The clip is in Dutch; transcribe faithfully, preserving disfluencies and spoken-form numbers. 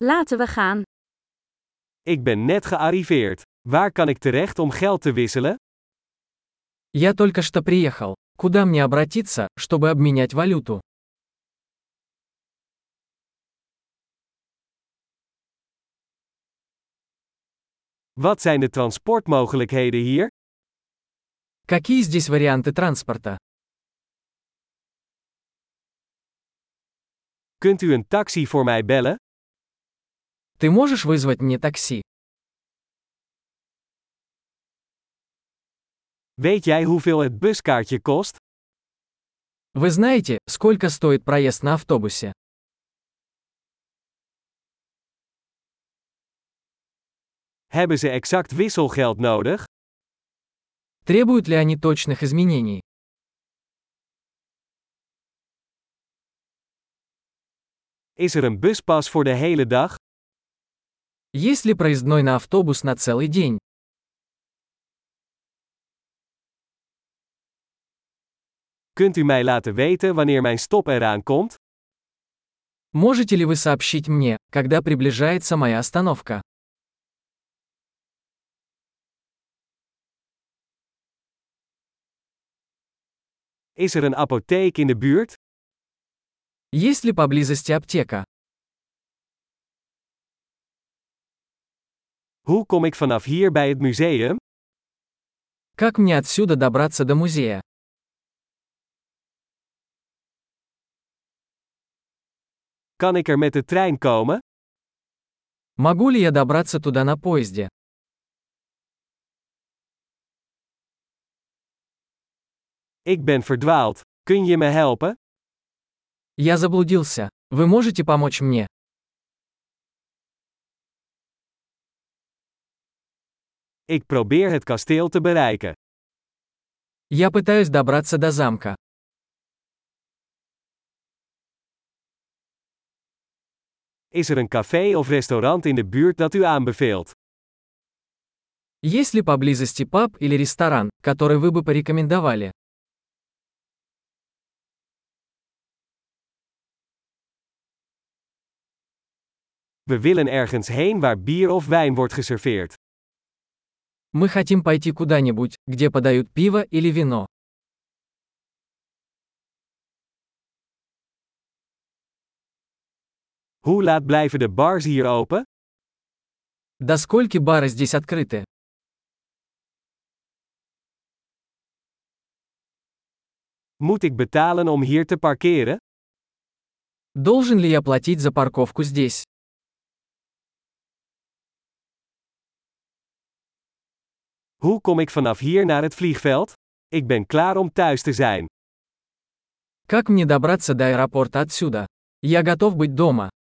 Laten we gaan. Ik ben net gearriveerd. Waar kan ik terecht om geld te wisselen? Я только что приехал. Куда мне обратиться, чтобы обменять валюту? Wat zijn de transportmogelijkheden hier? Какие здесь варианты транспорта? Kunt u een taxi voor mij bellen? Ты можешь вызвать мне такси? Weet jij hoeveel het buskaartje kost? Вы знаете, сколько стоит проезд на автобусе? Hebben ze exact wisselgeld nodig? Требуют ли они точных изменений? Is er een buspas voor de hele dag? Есть ли проездной на автобус на целый день? Kunt u mij laten weten wanneer mijn stop eraan komt? Можете ли вы сообщить мне, когда приближается моя остановка? Is er een apotheek in de buurt? Есть ли поблизости аптека? Hoe kom ik vanaf hier bij het museum? Как мне отсюда добраться до музея? Kan ik er met de trein komen? Могу ли я добраться туда на поезде? Ik ben verdwaald. Kun je me helpen? Я заблудился. Вы можете помочь мне? Ik probeer het kasteel te bereiken. Я пытаюсь добраться до замка. Is er een café of restaurant in de buurt dat u aanbeveelt? Есть ли поблизости паб или ресторан, который вы бы порекомендовали? We willen ergens heen waar bier of wijn wordt geserveerd. Мы хотим пойти куда-нибудь, где подают пиво или вино. Hoe laat blijven de bars hier open? До скольки бары здесь открыты? Moet ik betalen om hier te parkeren? Должен ли я платить за парковку здесь? Hoe kom ik vanaf hier naar het vliegveld? Ik ben klaar om thuis te zijn. Как мне добраться до аэропорта отсюда? Я готов быть дома.